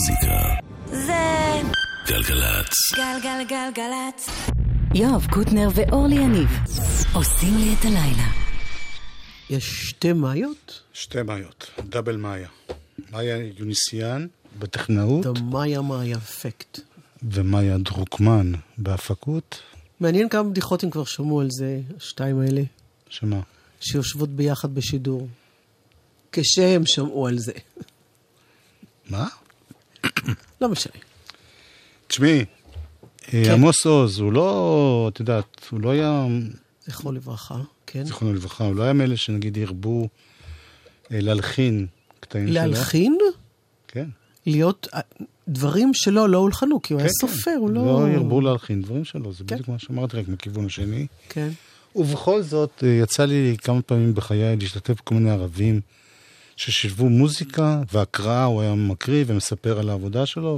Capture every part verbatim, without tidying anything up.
המוזיקה זה גלגלצ. גלגלגלגלצ. יואב קוטנר ואורלי יניב עושים לי את הלילה. יש שתי מאיות? שתי מאיות, דאבל מאיה. מאיה יוניסיאן בטכנאות. המאיה מאיה אפקט. ומאיה דרוקמן בהפקות. מעניין כמה בדיחות הם כבר שמעו על זה, השתיים האלה. שמה? שיושבות ביחד בשידור. כשהם שמעו על זה. מה? לא משנה. תשמעי, עמוס עוז, הוא לא, את יודעת, הוא לא היה... זכרו לברכה, כן. זכרונו לברכה, הוא לא היה מאלה שנגיד ירבו להלחין קטעים שלו. להלחין? כן. להיות דברים שלו לא הולחנו, כי הוא היה כן, סופר, כן. הוא לא... לא ירבו להלחין דברים שלו, זה כן. בדיוק מה שאמרתי, רק מכיוון השני. כן. ובכל זאת, יצא לי כמה פעמים בחיי להשתתף בכל מיני ערבים ששישבו מוזיקה והקראה, הוא היה מקריא ומספר על העבודה שלו,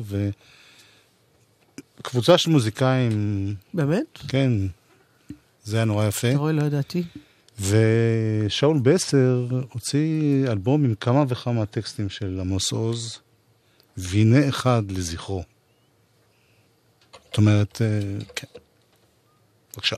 וקבוצה של מוזיקאים... באמת? כן, זה היה נורא יפה. אתה רואה, לא ידעתי. ושאול בסר הוציא אלבום עם כמה וכמה טקסטים של עמוס עוז, והנה אחד לזכרו. זאת אומרת, כן. בבקשה.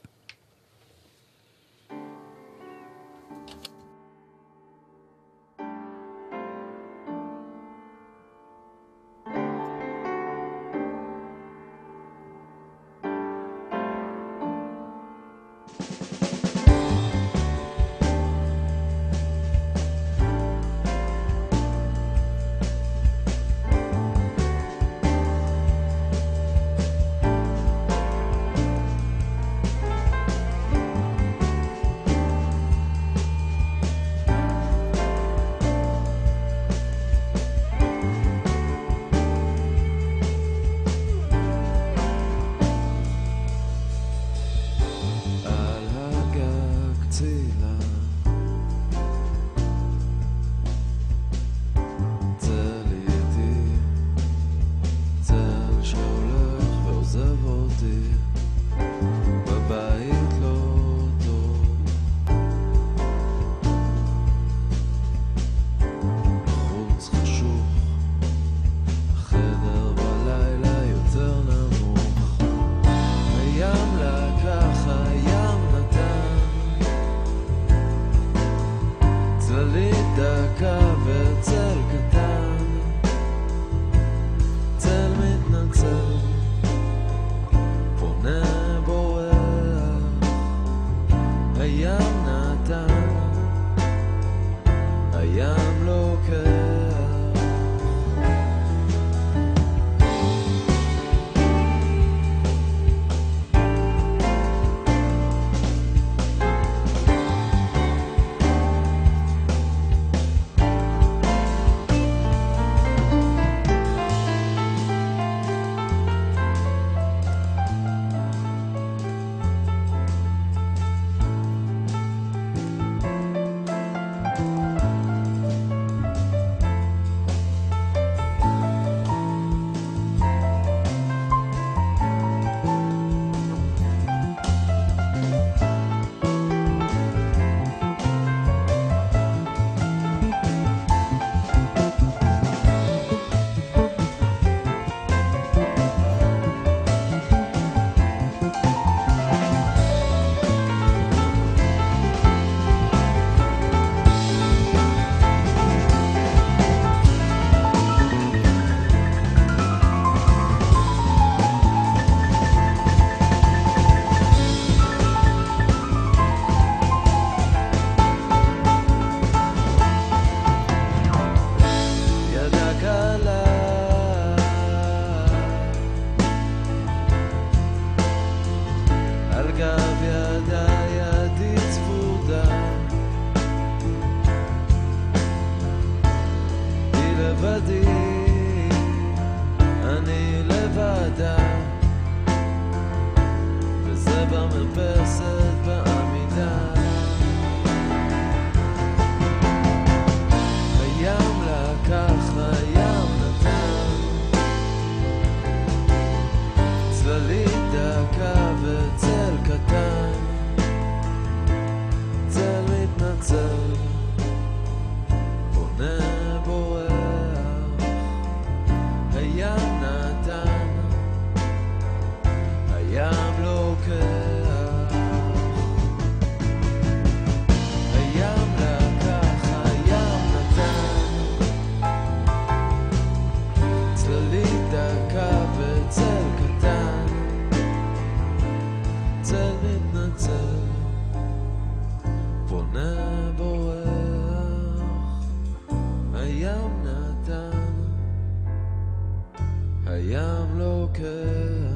הים לוקח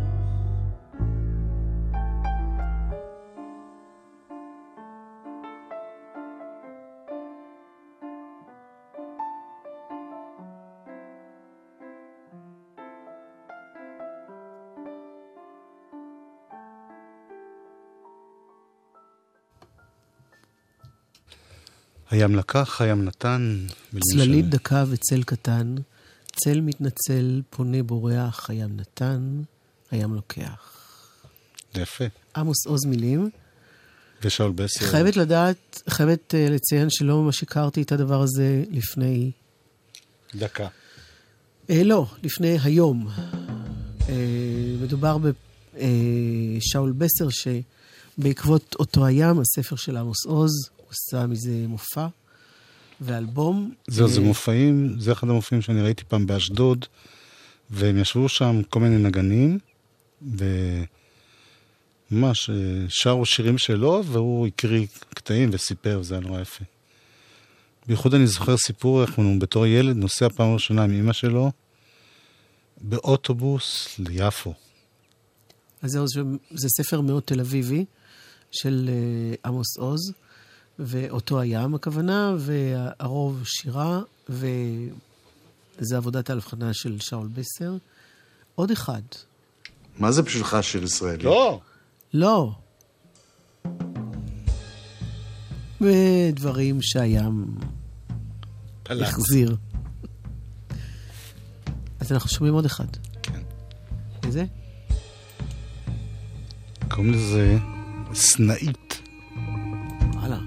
הים לקח, הים נתן. צללית ש... דקה וצל קטן, צל מתנצל, פונה בורח, הים נתן, הים לוקח. יפה. עמוס עוז מילים. ושאול בסר. חייבת לדעת, חייבת uh, לציין שלא ממש הכרתי את הדבר הזה לפני... דקה. אה, לא, לפני היום. אה, מדובר בשאול בסר, שבעקבות אותו הים, הספר של עמוס עוז, הוא עשה מזה מופע ואלבום. זהו, זה מופעים, זה אחד המופעים שאני ראיתי פעם באשדוד, והם ישבו שם כל מיני נגנים, וממש שרו שירים שלו, והוא הקריא קטעים וסיפר, זה היה נורא יפה. בייחוד אני זוכר סיפור, איך הוא בתור ילד נוסע פעם ראשונה עם אמא שלו, באוטובוס ליפו. אז זהו, זה ספר מאוד תל אביבי, של עמוס עוז, ואותו הים הכוונה, והרוב שירה, וזה עבודת ההבחנה של שאול בסר. עוד אחד. מה זה בשבילך שיר ישראלי? לא. לא. ודברים שהים החזיר. אז אנחנו שומעים עוד אחד. כן. איזה? קוראים לזה סנאית. הלאה.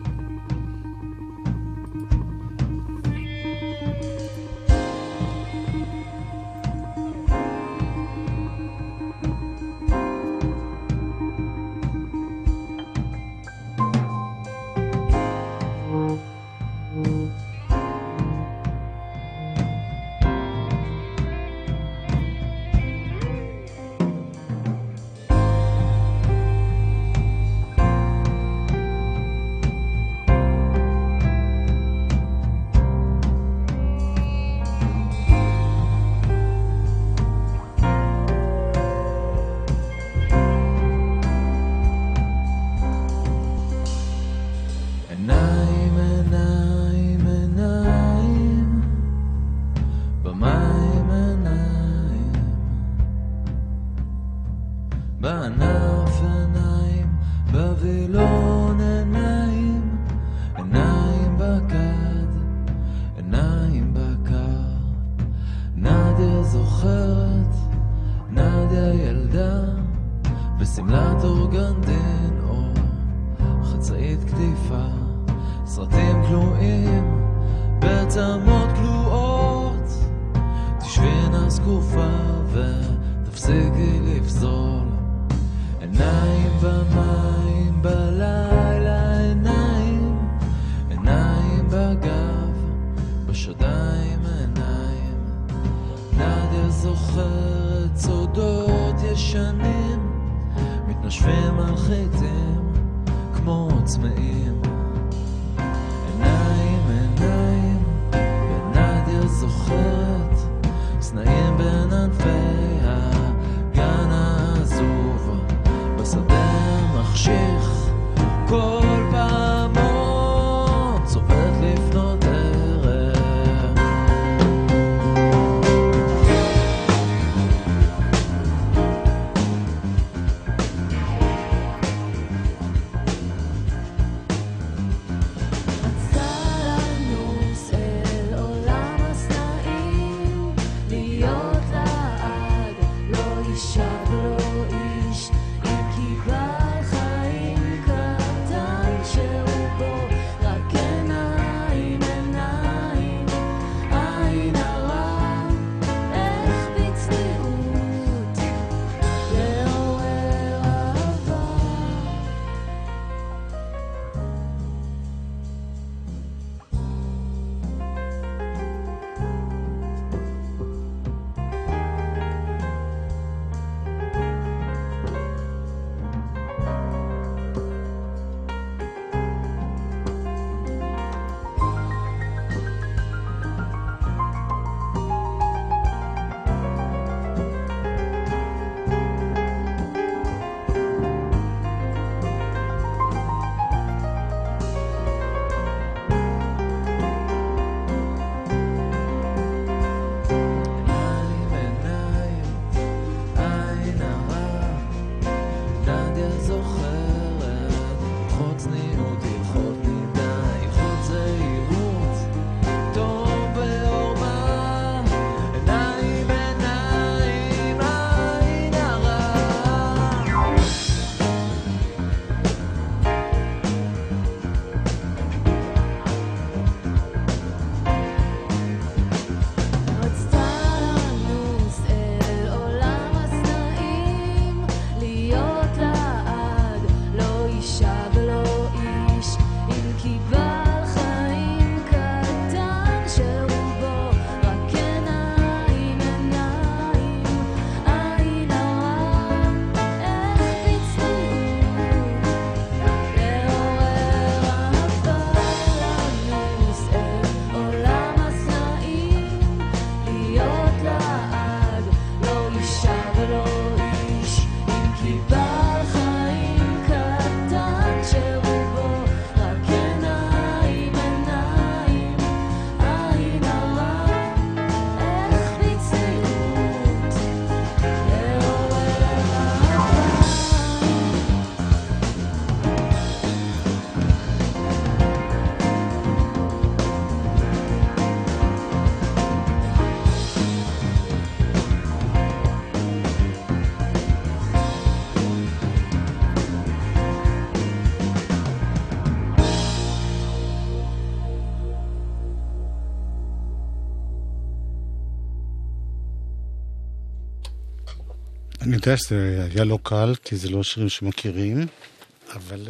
אני יודע שזה היה לא קל, כי זה לא שירים שמכירים, אבל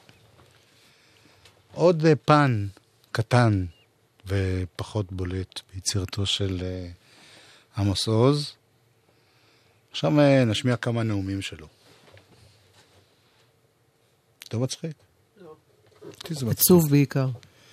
עוד פן קטן ופחות בולט ביצירתו של עמוס עוז. עכשיו נשמיע כמה נאומים שלו. לא מצחיק? לא. עצוב בעיקר.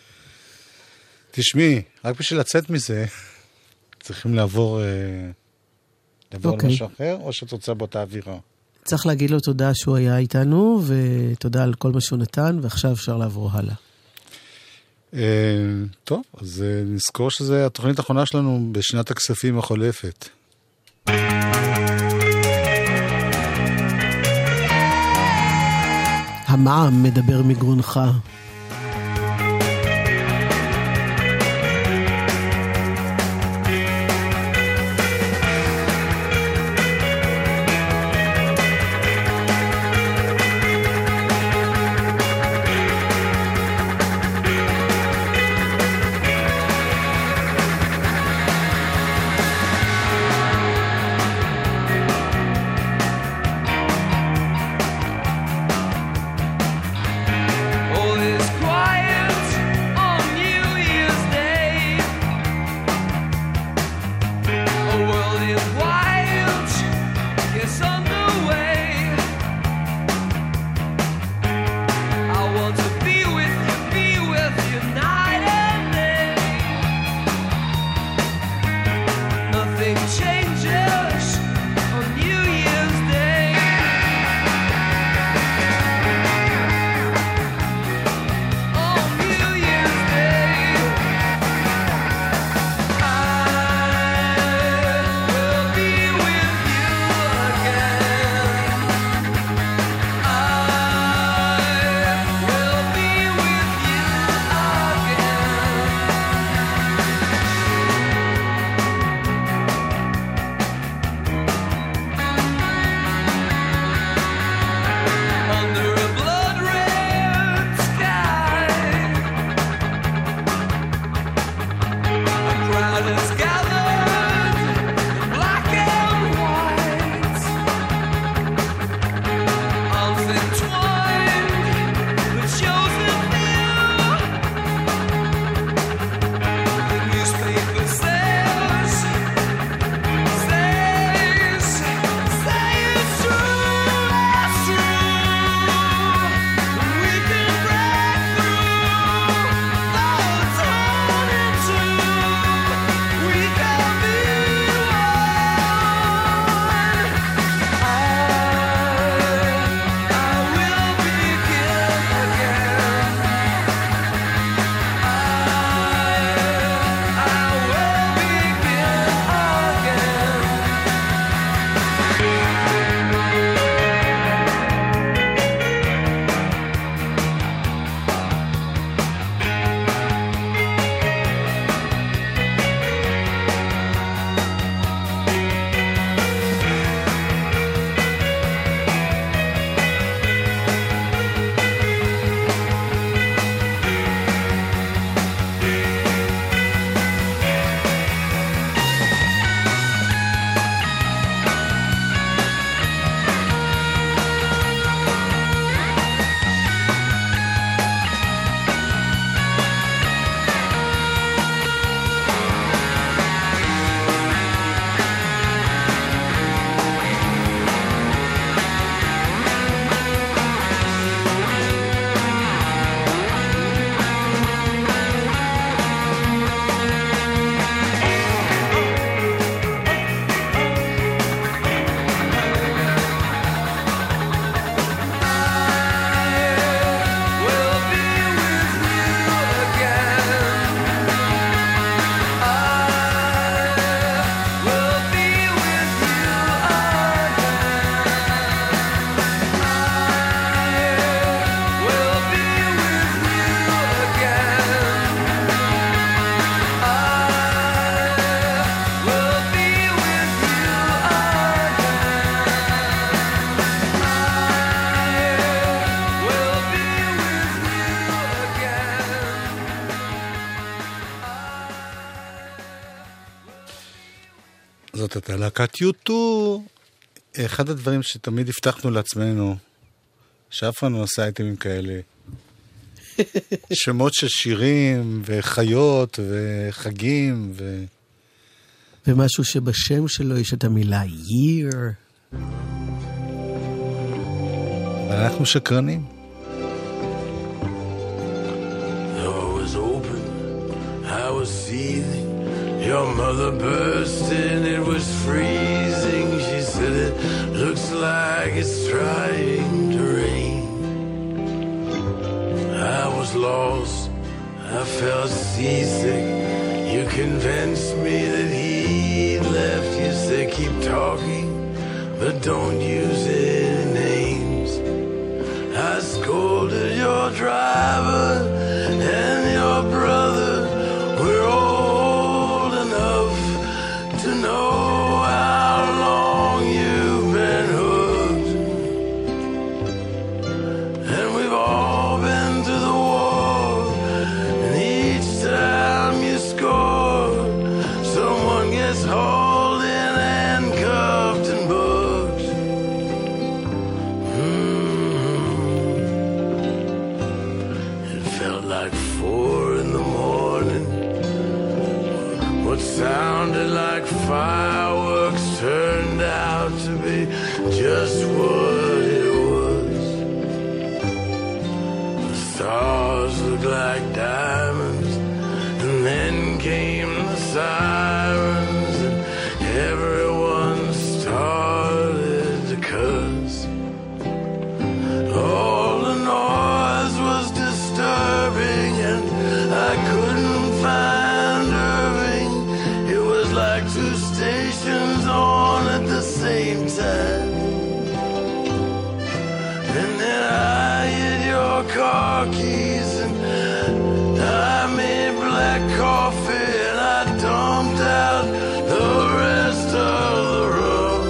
תשמעי, רק בשביל לצאת מזה, צריכים לעבור, לעבור okay. למשהו אחר, או שאת רוצה באותה אווירה? צריך להגיד לו תודה שהוא היה איתנו, ותודה על כל מה שהוא נתן, ועכשיו אפשר לעבור הלאה. טוב, אז נזכור שזה התוכנית האחרונה שלנו בשנת הכספים החולפת. המע"מ מדבר מגרונך. זאת הייתה להקת יוטו אחד הדברים שתמיד הבטחנו לעצמנו, שאף פעם לא עשה אייטמים כאלה, שמות של שירים וחיות וחגים ו... ומשהו שבשם שלו יש את המילה year. אבל אנחנו שקרנים. The door was open, I was seething. Your mother burst in, it was freezing. She said it looks like it's trying to rain. I was lost, I felt seasick. You convinced me that he'd left. You said keep talking, but don't use any names. I scolded your driver and your brother. We're old enough to know how long you've been hooked. And we've all been to the war, and each time you score, someone gets hauled in and cuffed and booked. Mm-hmm. It felt like four in the morning. What sounded like fireworks turned out to be just what it was. The stars looked like diamonds, and then came the sirens, and everyone started to cuss. All the noise was disturbing, and I couldn't find Irving. It was like two stations on at the same time. And then I hit your car keys, and I made black coffee, and I dumped out the rest of the rum.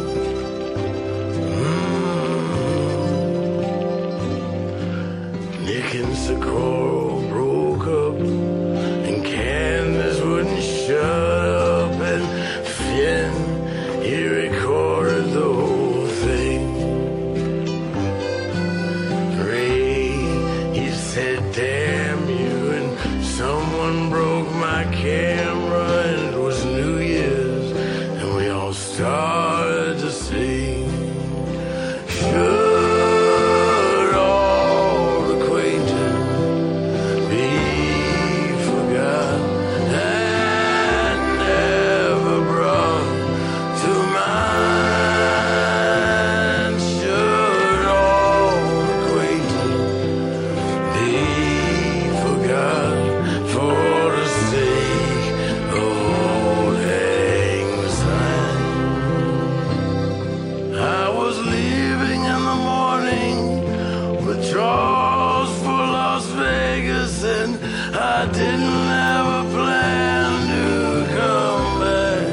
Mm. Nick and Socorro broke up, and Candace wouldn't shut up, and Finn, he recorded the whole thing. Ray, he said damn you, and someone broke my camera, and it was New Year's, and we all started to sing. Should all acquaintance be forgot and never brought to mind? Should all acquaintance be forgot for the sake of old lang syne? I was leaving in the morning with Charles for Las Vegas, and I didn't have a plan to come back.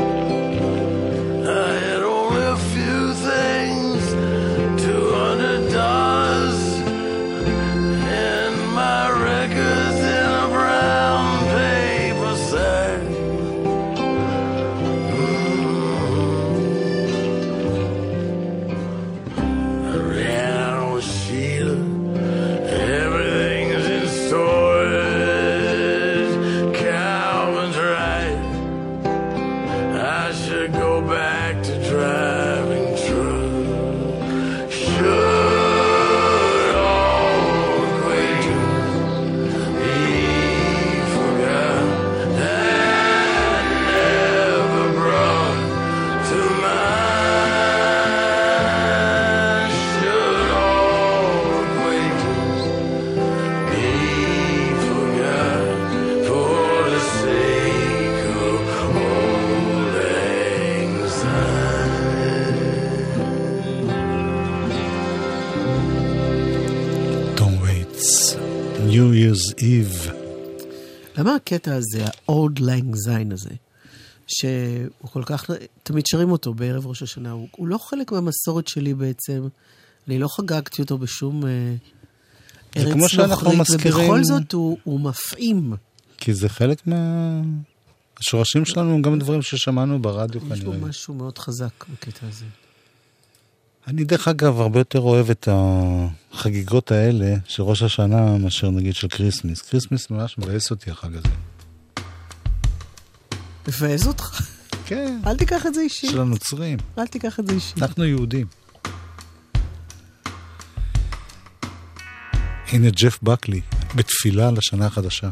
I had only a few things, two hundred dollars, and my records in a brown paper sack. I ran out with Sheila. Everything's in storage. Calvin's right. I should go back to driving truck. Should all acquaintance be forgot and never brought to mind? Should all acquaintance be forgot for the sake of old lang syne? Tom Waits, New Year's Eve. למה הקטע הזה, ה-Old Lang Syne הזה, שהוא כל כך, תמיד שרים אותו בערב ראש השנה, הוא, הוא לא חלק מהמסורת שלי בעצם, אני לא חגגתי אותו בשום אה, זה ארץ כמו שאנחנו נוכרית, מזכירים- ובכל זאת הוא, הוא מפעים. כי זה חלק מה... השורשים שלנו הם גם דברים ששמענו ברדיו יש בו כנראה. משהו מאוד חזק בקטע הזה. אני דרך אגב הרבה יותר אוהב את החגיגות האלה של ראש השנה מאשר נגיד של קריסמס. קריסמס ממש מבאס אותי החג הזה. מבאס אותך? כן. אל תיקח את זה אישי. של הנוצרים. אל תיקח את זה אישי. אנחנו יהודים. הנה ג'ף בקלי, בתפילה לשנה החדשה.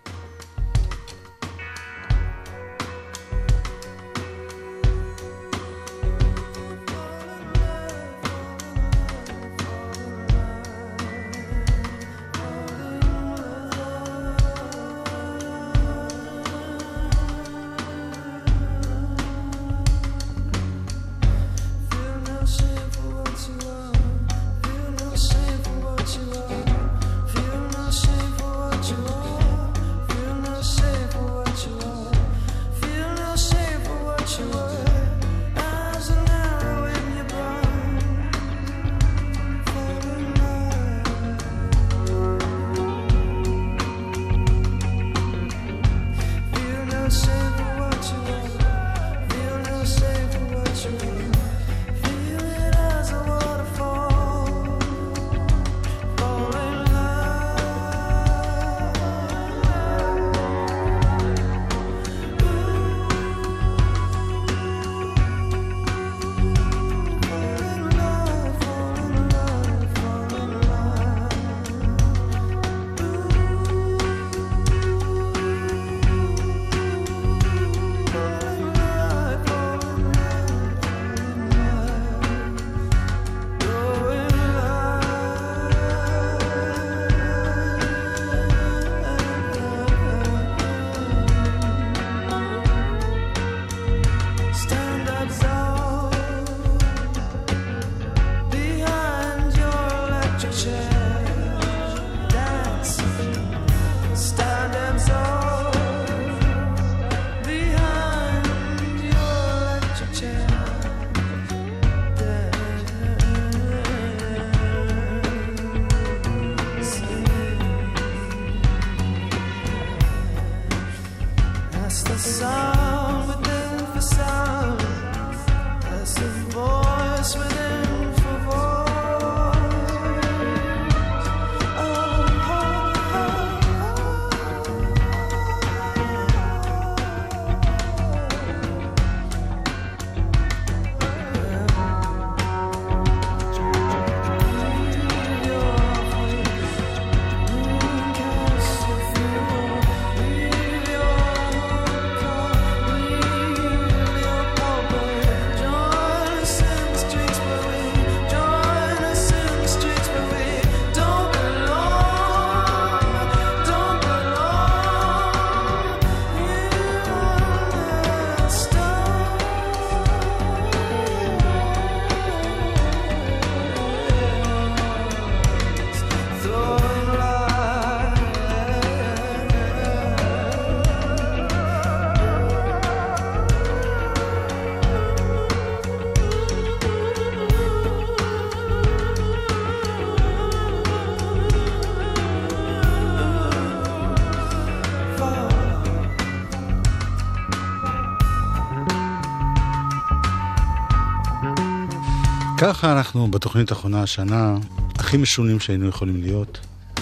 ככה אנחנו בתוכנית האחרונה השנה הכי משונים שהיינו יכולים להיות.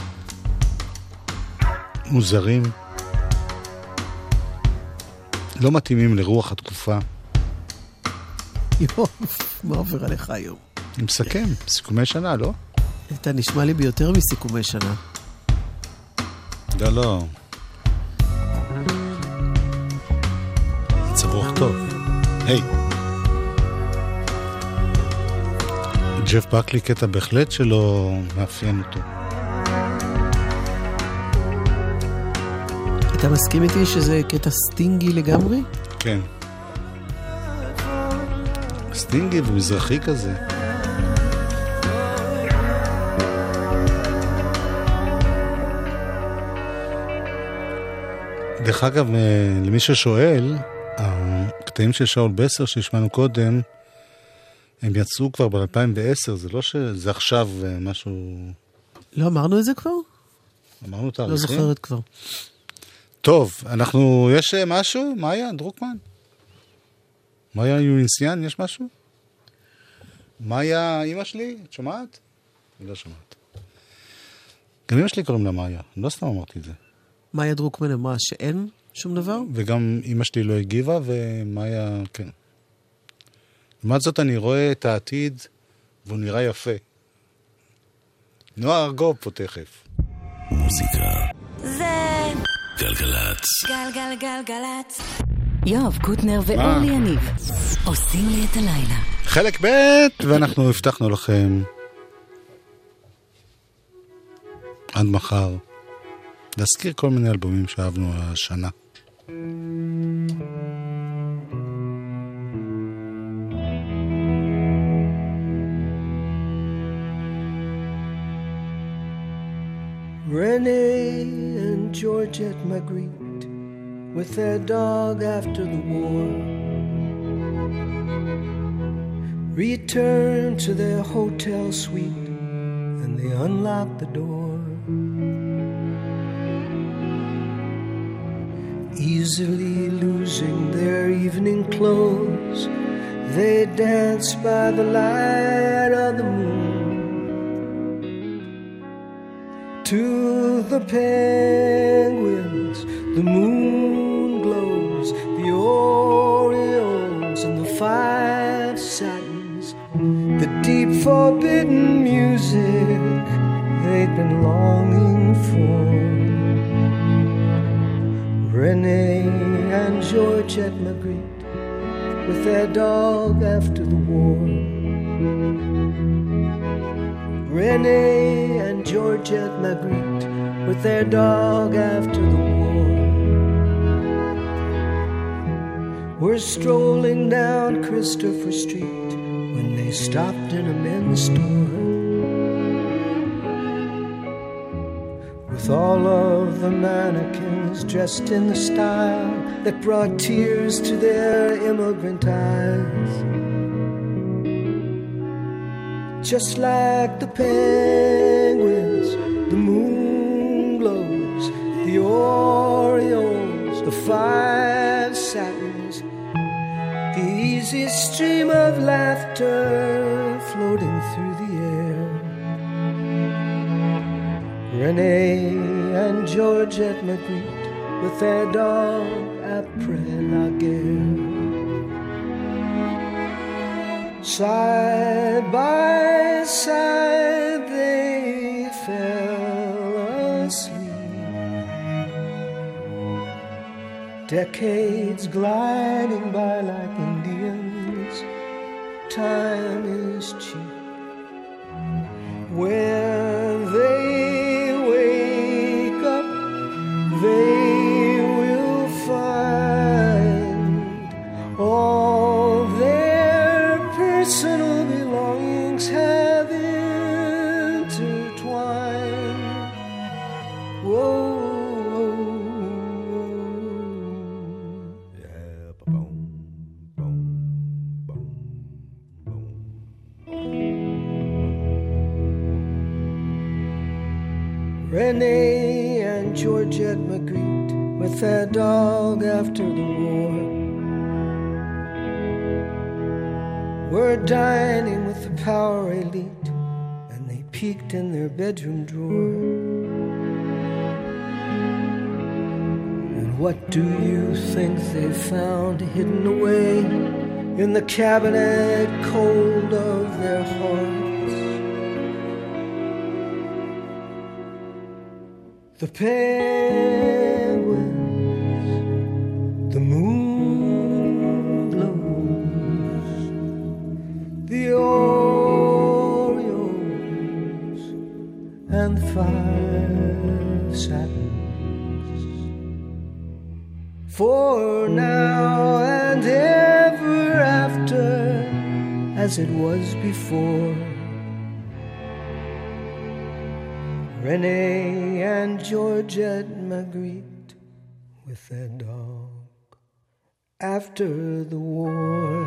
מוזרים. לא מתאימים לרוח התקופה. יואו, מה עובר עליך היום? אני מסכם, סיכומי שנה, לא? אתה נשמע לי ביותר מסיכומי שנה. לא, לא. צבוח טוב. היי. ג'ף בקלי קטע בהחלט שלא מאפיין אותו. אתה מסכים איתי שזה קטע סטינגי לגמרי? כן. סטינגי ומזרחי כזה. דרך אגב, למי ששואל, הקטעים של שאול בסר שהשמענו קודם, הם יצאו כבר ב-אלפיים ועשר, זה לא שזה עכשיו משהו... לא אמרנו את זה כבר? אמרנו תאריכים? לא זוכרת כבר. טוב, אנחנו... יש משהו? מאיה, דרוקמן? מאיה יוניסיאן, יש משהו? מאיה, אמא שלי, את שומעת? אני לא שומעת. גם אמא שלי קוראים לה מאיה, לא סתם אמרתי את זה. מאיה דרוקמן אמרה שאין שום דבר? וגם אמא שלי לא הגיבה, ומאיה, כן. לעומת זאת אני רואה את העתיד, והוא נראה יפה. נועה ארגוב פה תכף. מוזיקה זה גלגלצ גלגלגלגלצ יואב קוטנר ואורלי יניב עושים לי את הלילה. חלק ב' ואנחנו הבטחנו לכם עד מחר להזכיר כל מיני אלבומים שאהבנו השנה. Renee and Georgette Magritte with their dog after the war returned to their hotel suite and they unlocked the door. Easily losing their evening clothes, they danced by the light of the moon. To the penguins, the moon glows, the orioles and the five satins, the deep forbidden music they'd been longing for. Renee and Georgette Magritte with their dog after the war. Renee and Georgette Magritte with their dog after the war were strolling down Christopher Street when they stopped in a men's store. With all of the mannequins dressed in the style that brought tears to their immigrant eyes. Just like the penguins, the moon glows, the orioles, the five satins, the easy stream of laughter floating through the air. Renee and Georgette Magritte with their dog après la guerre. Side by side they fell asleep, decades gliding by like Indians. Time is cheap. When they wake up, they will find all their personal belongings have intertwined. Whoa, yeah, boom, boom, boom, boom. Renee and Georgette Magritte with their dog after the war were dining with the power elite, and they peeked in their bedroom drawer. And what do you think they found hidden away in the cabinet cold of their hearts? The penguins, the moon glows, the orioles and five satins. For now and ever after, as it was before, Renee and Georgette Magritte with their dog after the war.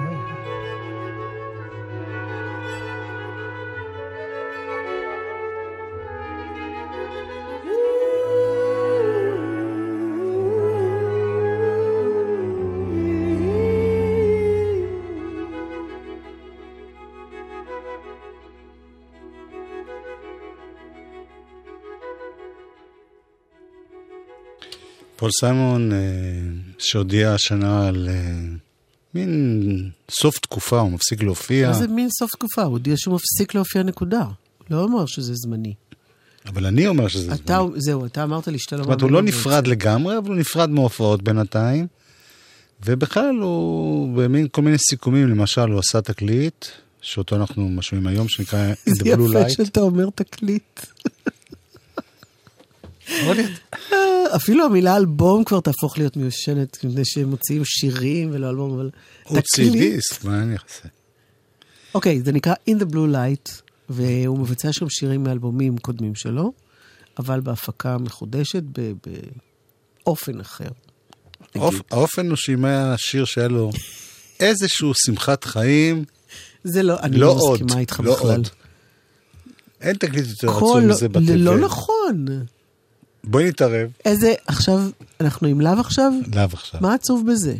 פול סיימון, שהודיע השנה על מין סוף תקופה, הוא מפסיק להופיע. מה זה מין סוף תקופה? הוא הודיע שהוא מפסיק להופיע נקודה. לא אומר שזה זמני. אבל אני אומר שזה אתה, זמני. זהו, אתה אמרת לי שאתה לא... זאת אומרת, הוא לא נפרד לגמרי, אבל הוא נפרד מהופעות בינתיים. ובכלל הוא במין כל מיני סיכומים, למשל הוא עשה תקליט, שאותו אנחנו משמיעים היום, שנקרא In the Blue Light. זה יפה שאתה אומר תקליט. אפילו המילה אלבום כבר תהפוך להיות מיושנת, כדי שהם מוציאים שירים ולא אלבום, אבל הוא צידיסט, מה אני אעשה? אוקיי, זה נקרא In the Blue Light, והוא מבצע שם שירים מאלבומים קודמים שלו, אבל בהפקה מחודשת באופן אחר. האופן הוא שימה שיר שהיה לו איזשהו שמחת חיים. זה לא, אני לא מסכימה איתך בכלל. אין תקליט יותר עצוב מזה בטבע. לא נכון. בואי נתערב. איזה, עכשיו, אנחנו עם לב עכשיו? לב עכשיו. מה עצוב בזה?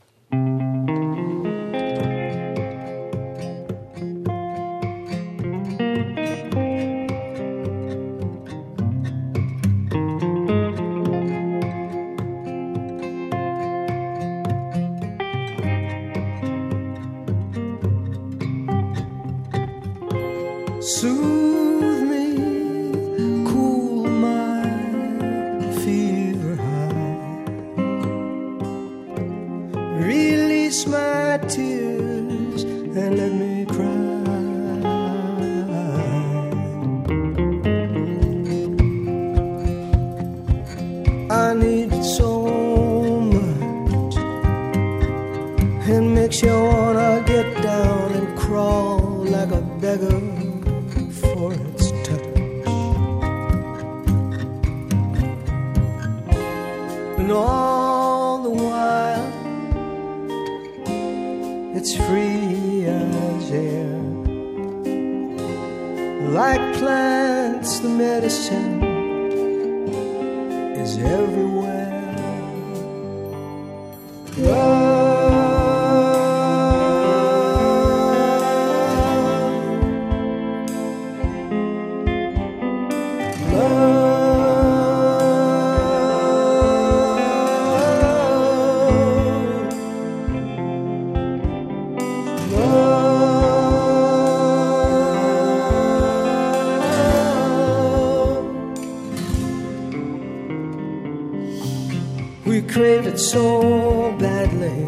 Soothe me, cool my fever high, release my tears and let me cry. I need it so much, it makes you wanna get down and crawl like a beggar for its touch. And all the while it's free as air, like plants the medicine is everywhere. Love, crave it so badly,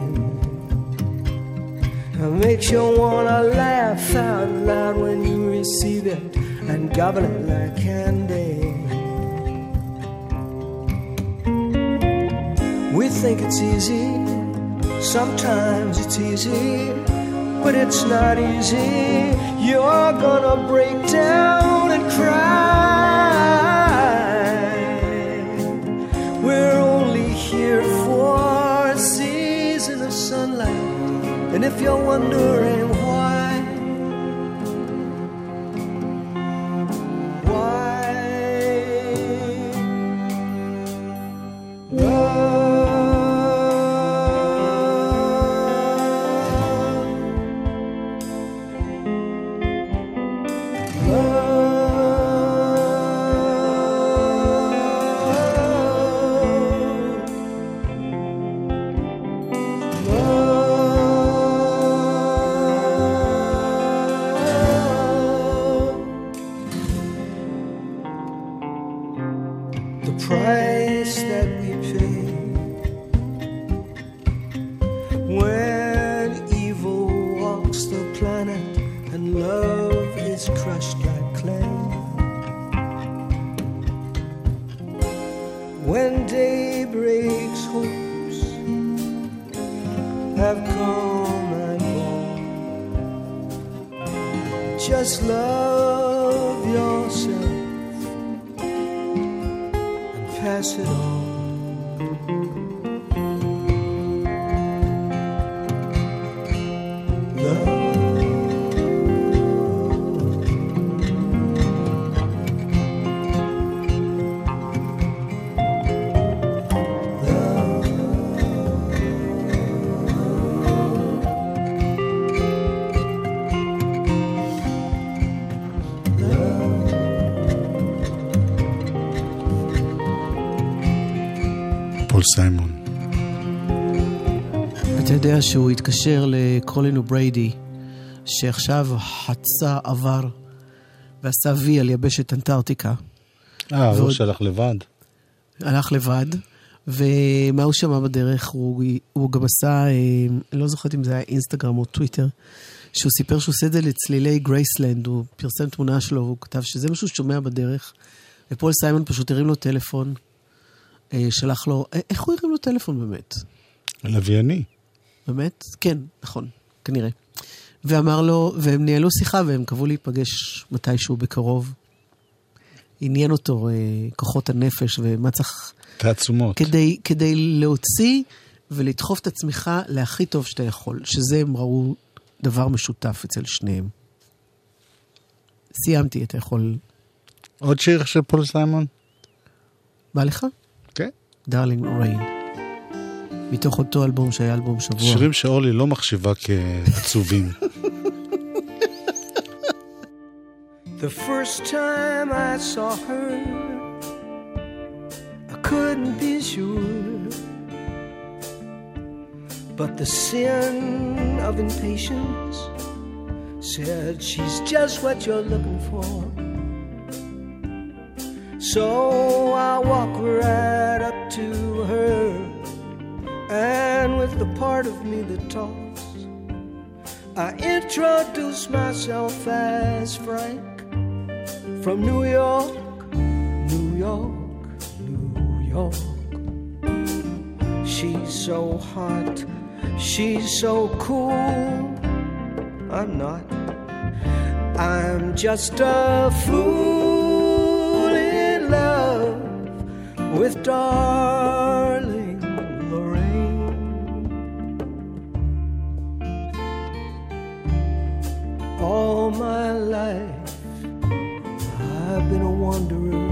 it makes you wanna laugh out loud when you receive it and gobble it like candy. We think it's easy, sometimes it's easy, but it's not easy. You're gonna break down and cry. We're only here for a season of sunlight, and if you're wondering why, why love, price that we pay when evil walks the planet and love is crushed like clay. When day breaks, hopes have come and gone. Just love yourself, pass it on. Love. פול סיימון. אתה יודע שהוא התקשר לקולין ובריידי, שעכשיו חצה עבר ועשה וי על יבשת אנטארקטיקה. אה, הוא שהלך לבד. הלך לבד, ומה הוא שמע בדרך? הוא, הוא גם עשה, אני לא זוכרת אם זה היה אינסטגרם או טוויטר, שהוא סיפר שהוא עושה את זה לצלילי גרייסלנד, הוא פרסם תמונה שלו, הוא כתב שזה משהו ששומע בדרך, ופול סיימון פשוט הרים לו טלפון, שלח לו, איך הוא הרים לו טלפון באמת? לווייני. באמת? כן, נכון, כנראה. ואמר לו, והם ניהלו שיחה, והם קבעו להיפגש מתישהו בקרוב. עניין אותו אה, כוחות הנפש, ומה צריך... תעצומות. כדי, כדי להוציא ולדחוף את עצמך להכי טוב שאתה יכול, שזה הם ראו דבר משותף אצל שניהם. סיימתי, אתה יכול... עוד שיר של פול סיימון? בא לך? כן. דארלינג ריין. מתוך אותו אלבום שהיה אלבום שבוע. שירים שאורלי לא מחשיבה כעצובים. The first time I saw her, I couldn't be sure, but the sin of impatience said she's just what you're looking for. So I walk right up to her, and with the part of me that talks, I introduce myself as Frank from New York, New York, New York. She's so hot, she's so cool. I'm not. I'm just a fool in love with darling Lorraine. All my life I've been a wanderer.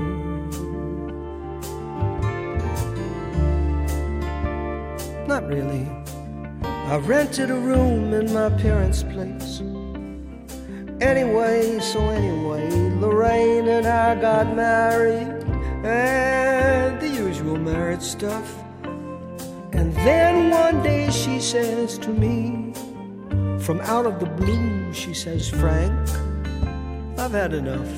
Not really. I rented a room in my parents' place. Anyway, so anyway, Lorraine and I got married, and the usual marriage stuff. And then one day she says to me, from out of the blue, she says, Frank, I've had enough.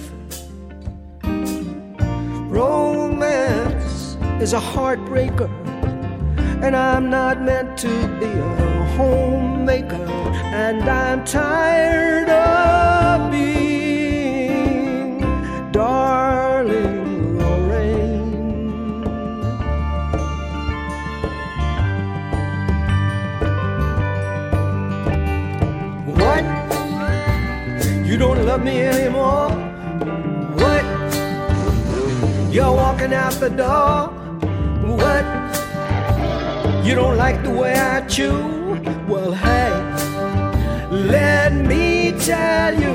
Romance is a heartbreaker, and I'm not meant to be a homemaker, and I'm tired of being darling Lorraine. What? You don't love me anymore? What? You're walking out the door? What? You don't like the way I chew? Well, hey, let me tell you,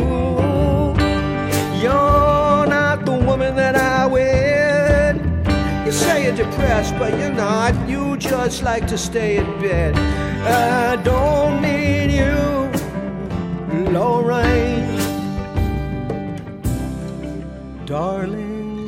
you're not the woman that I wed. You say you're depressed, but you're not. You just like to stay in bed. I don't need you, Lorraine, darling.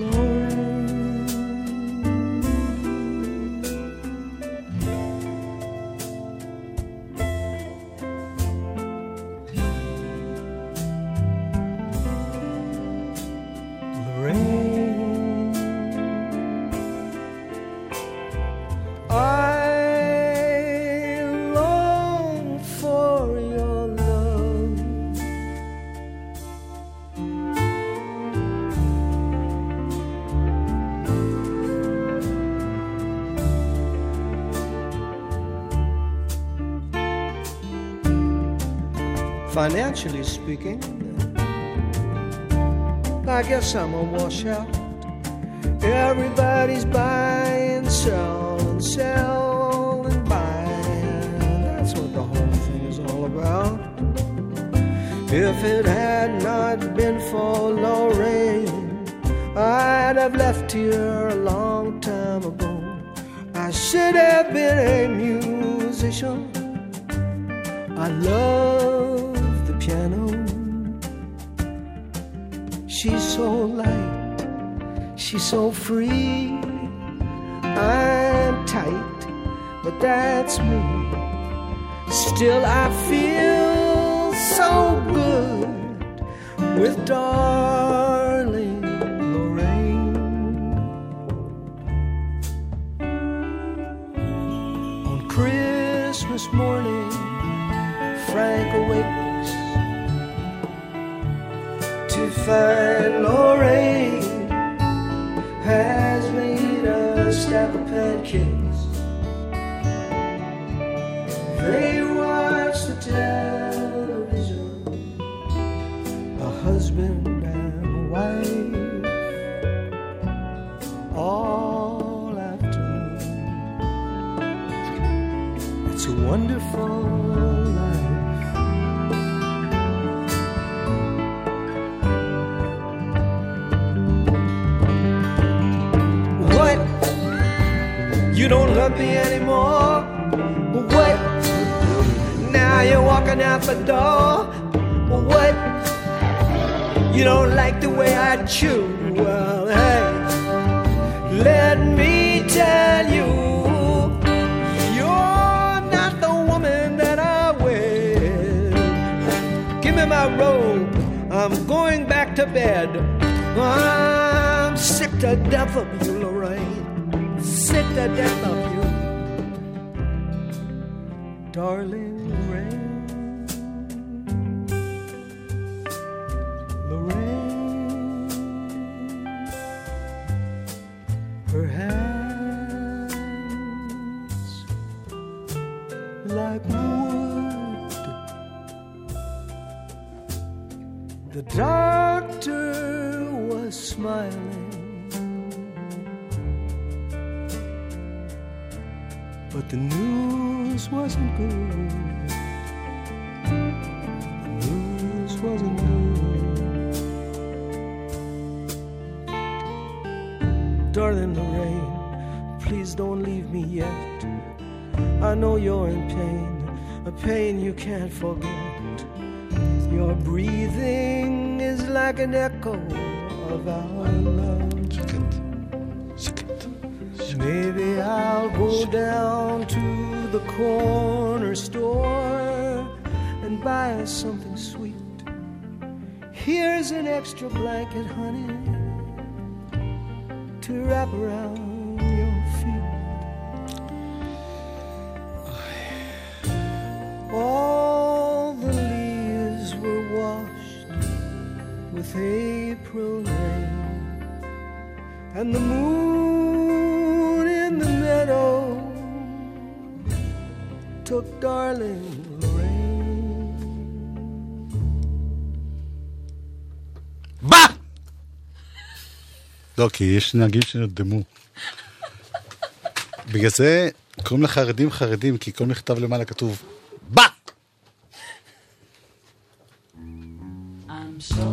Financially speaking, I guess I'm a washout. Everybody's buying, selling, sell and buy. That's what the whole thing is all about. If it had not been for Lorraine, I'd have left here a long time ago. I should have been a musician. I love the piano. She's so light, she's so free. I'm tight, but that's me. Still I feel so good with darling Lorraine. On Christmas morning, Frank awakes to find Lorraine has made a stack of pancakes. They watch the television, a husband and a wife, all afternoon. It's a wonderful life. What? You don't love me anymore? What? Now you're walking out the door. What? You don't like the way I chew? Well, hey, let me tell you, you're not the woman that I will. Give me my robe, I'm going back to bed. I'm sick to death of you, Lorraine, sick to death of you, darling Lorraine. Lorraine, her hands like wood. The doctor was smiling, but the news wasn't good. The news wasn't good. Darling Lorraine, please don't leave me yet. I know you're in pain, a pain you can't forget. Your breathing is like an echo of our love. Maybe I'll go down to the corner store and buy us something sweet. Here's an extra blanket, honey, to wrap around your feet. All the leaves were washed with April rain, and the moon in the meadow took darling Lorraine. בא! לא, כי יש נהגים שנרדמו. בגלל זה קוראים לחרדים חרדים, כי כל מכתב למעלה כתוב בא! I'm so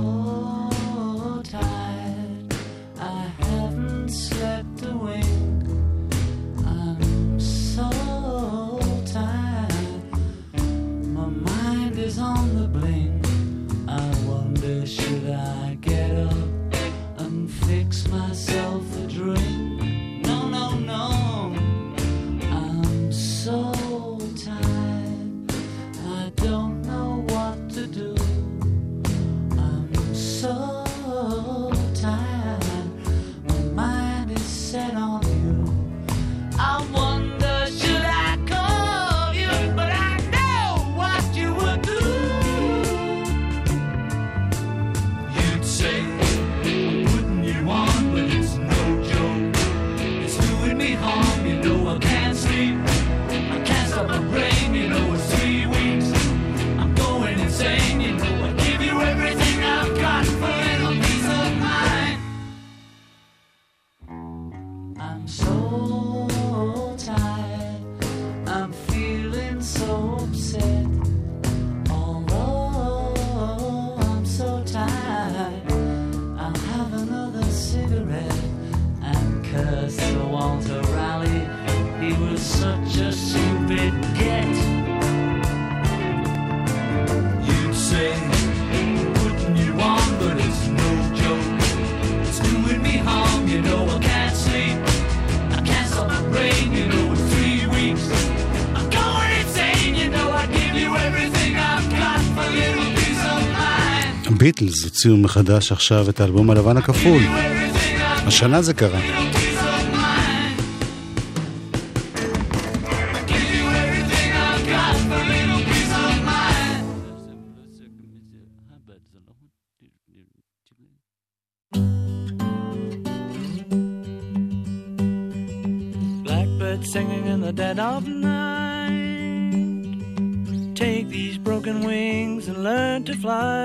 tired, I haven't slept a wink. I'm so tired, my mind is on the blink. I wonder, should I get up and fix myself a drink? No, no, no, I'm so tired, I don't know what to do. I'm so tired, my mind is set on you. I wonder, should I call you? But I know what you would do. You'd say, I'm putting you on, but it's no joke. It's doing me harm, you know I can't sleep. I can't stop the rain, you know it's three weeks. I'm going insane, you know I give you everything I've got for a little peace of mind. I'm so tired, I'm feeling so upset. Although I'm so tired, I'll have another cigarette and curse the Walter Raleigh. He was such a stupid get. You'd say, I'm putting you on, but it's no joke. It's doing me harm, you know I can't sleep. I can't stop the rain, you know it's הביטלס הוציאו מחדש עכשיו את האלבום הלבן הכפול. השנה זה קרה. Blackbird singing in the dead of night. Take these broken wings and learn to fly.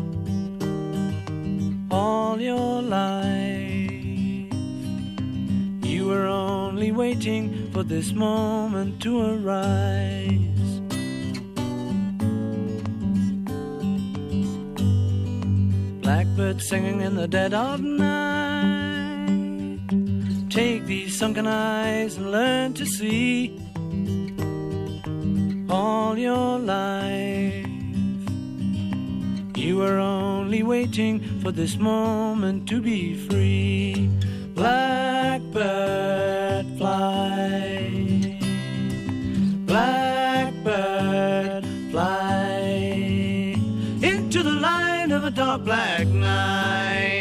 All your life you were only waiting for this moment to arise. Blackbird singing in the dead of night. Take these sunken eyes and learn to see. All your life you were only waiting for this moment to be free. Blackbird fly, blackbird fly into the light of a dark black night.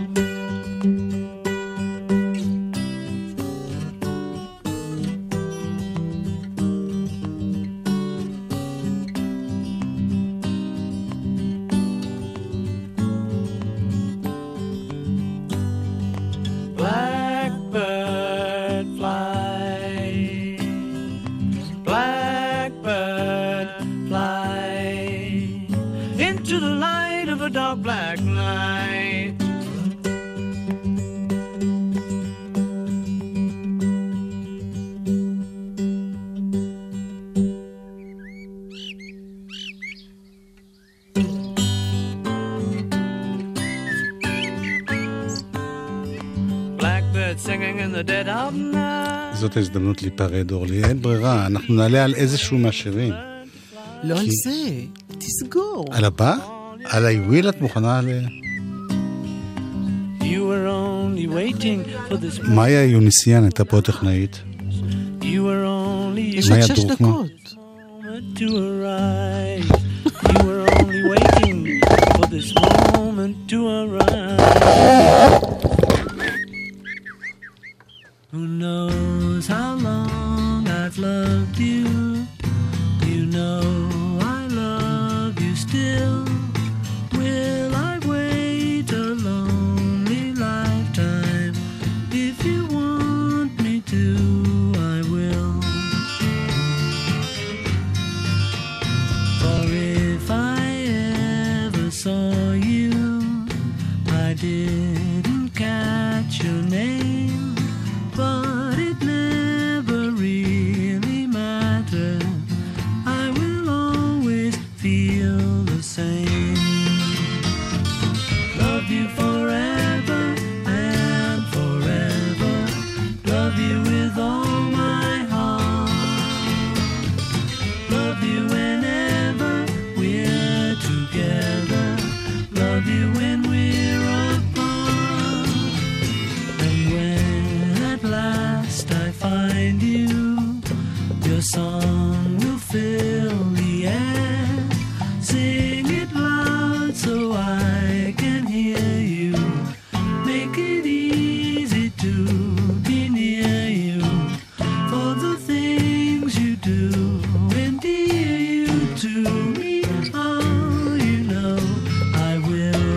Dark black night. Blackbird singing in the dead of night. זאת ההזדמנות להיפרד, אורלי. אין ברירה, אנחנו נעלה על איזשהו מהשירים. לא על זה, תסגור. על הבא? על היוויל את מוכנה ל... מאיה יוניסיאן הייתה פה טכנאית. יש עוד שש דקות. Who knows how long I've loved you? You know I love you still. Will I wait a lonely lifetime? If you want me to, I will. For if I ever saw you, I didn't catch your name, but it never really mattered. I will always feel the same. Love you forever and forever. Love you with all my heart. Love you whenever we're together. Love you when we're apart. And when at last I find you, your song will fill the air. Sing it loud so I can hear you. Make it easy to be near you. For the things you do endear you to me. Oh, you know I will.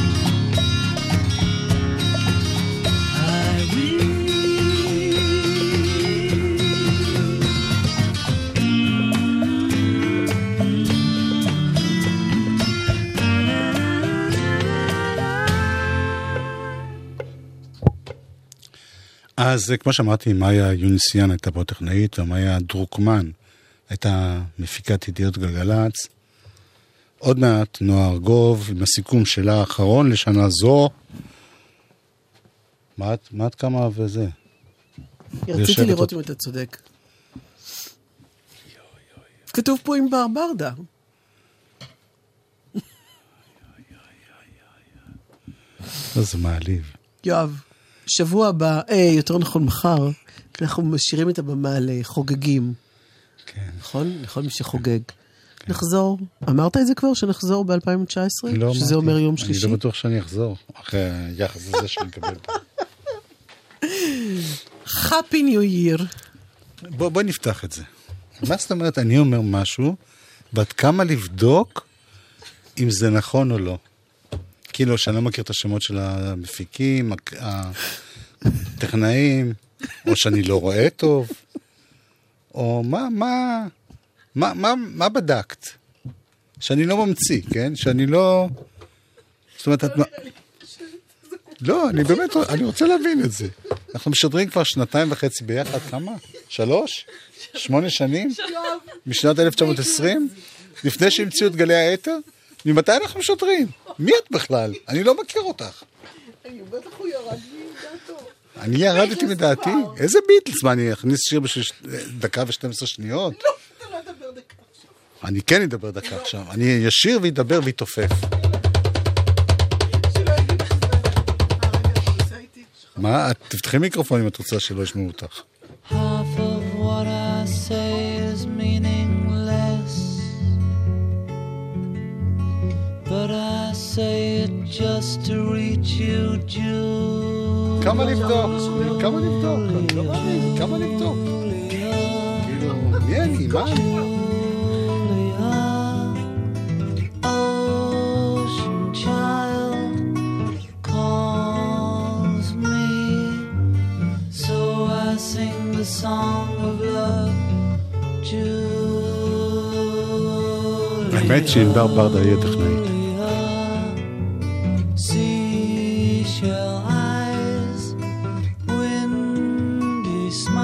I will. אז כמו שאמרתי, מאיה יוניסיאן הייתה פה טכנאית, ומאיה דרוקמן הייתה מפיקת ידיעות גלגלצ. עוד מעט נועה ארגוב עם הסיכום שלה האחרון לשנה זו. מה את, מה את כמה וזה? רציתי לראות אם אתה צודק. כתוב פה עם בר ברדה. זה מעליב. יואב, שבוע הבא, אה, יותר נכון מחר, אנחנו משאירים את הבמה לחוגגים. כן. נכון? לכל מי שחוגג. נחזור. אמרת את זה כבר, שנחזור ב-אלפיים תשע עשרה? לא שזה אומר יום שלישי? אני לא בטוח שאני אחזור, אחרי היחס הזה שאני אקבל. Happy New Year. בוא, בוא נפתח את זה. מה זאת אומרת, אני אומר משהו, ועד כמה לבדוק אם זה נכון או לא. כאילו, שאני לא מכיר את השמות של המפיקים, הטכנאים, או שאני לא רואה טוב, או מה, מה, מה, מה, מה בדקת? שאני לא ממציא, כן? שאני לא... זאת אומרת, את... לא, אני באמת, אני רוצה להבין את זה. אנחנו משדרים כבר שנתיים וחצי ביחד, כמה? שלוש? שמונה שנים? משנת אלף תשע מאות ועשרים? לפני שהמציאו את גלי האתר? ממתי אנחנו משדרים? מי את בכלל? אני לא מכיר אותך. אני בטח הוא ירד מדעתו. אני ירדתי מדעתי? איזה ביטלס? מה, אני אכניס שיר בשביל דקה ושתים עשרה שניות? לא, אתה לא אדבר דקה עכשיו. אני כן אדבר דקה עכשיו. אני ישיר וידבר ויתופף. מה? תפתחי מיקרופון אם את רוצה שלא ישמעו אותך. Half of what I say is meaningless, but I say it just to reach you, Julia. כמה לבדוק? כמה לבדוק? אני לא מאמין, כמה לבדוק? כאילו, מי אני? מה אני? Ocean child calls me, so I sing the song of love, Julia. האמת שענבר ברדה יהיה טכנאית. Seashell eyes, windy smile.